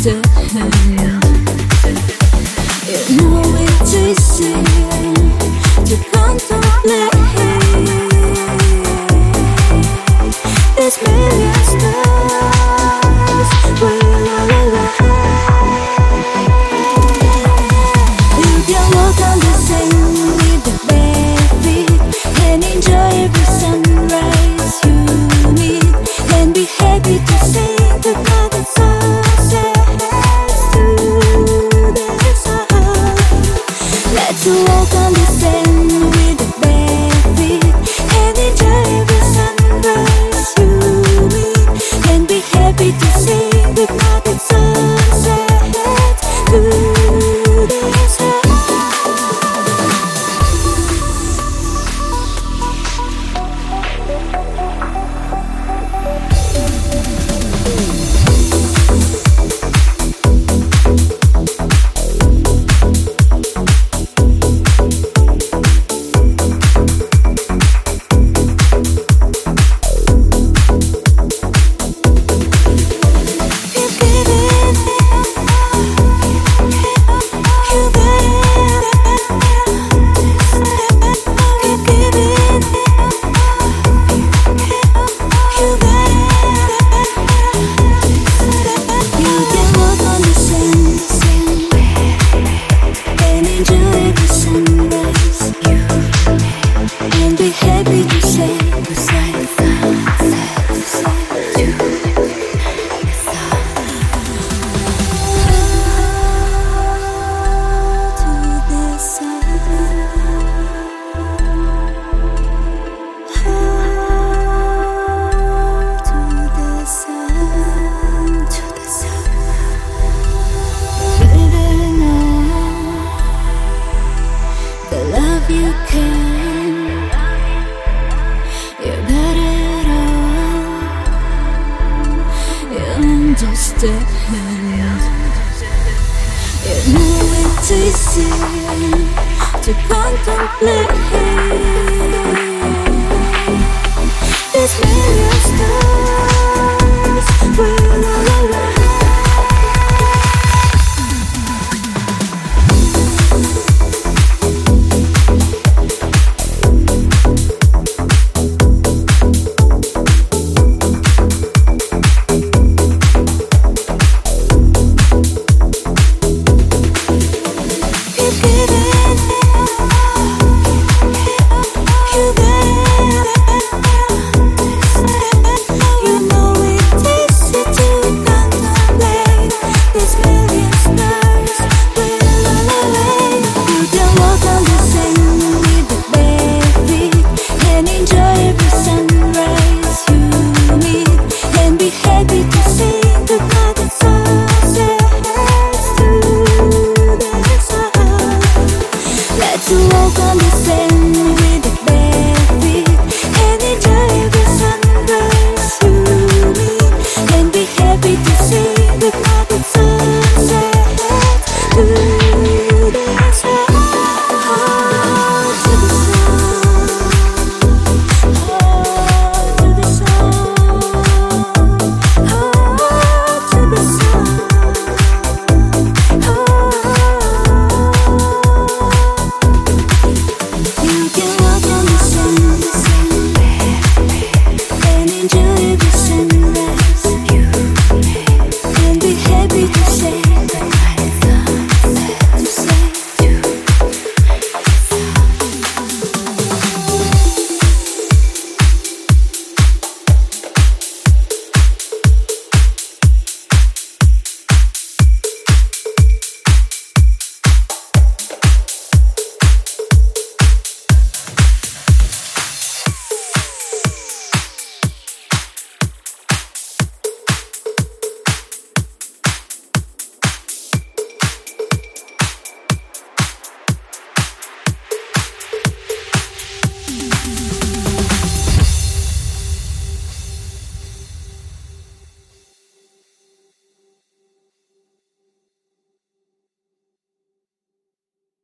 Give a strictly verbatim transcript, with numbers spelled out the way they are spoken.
understand. You know it's easy to contemplate. There's million stars will align. You can walk on the sand with the baby and enjoy every sunrise you meet, and be happy to say goodbye to sunsets to the sun. Let's walk on the sand with the baby and enjoy every sunrise you meet, and be happy to say goodbye to sunsets to the sun. You can, you got it all, you understand. You know it's easy to contemplate.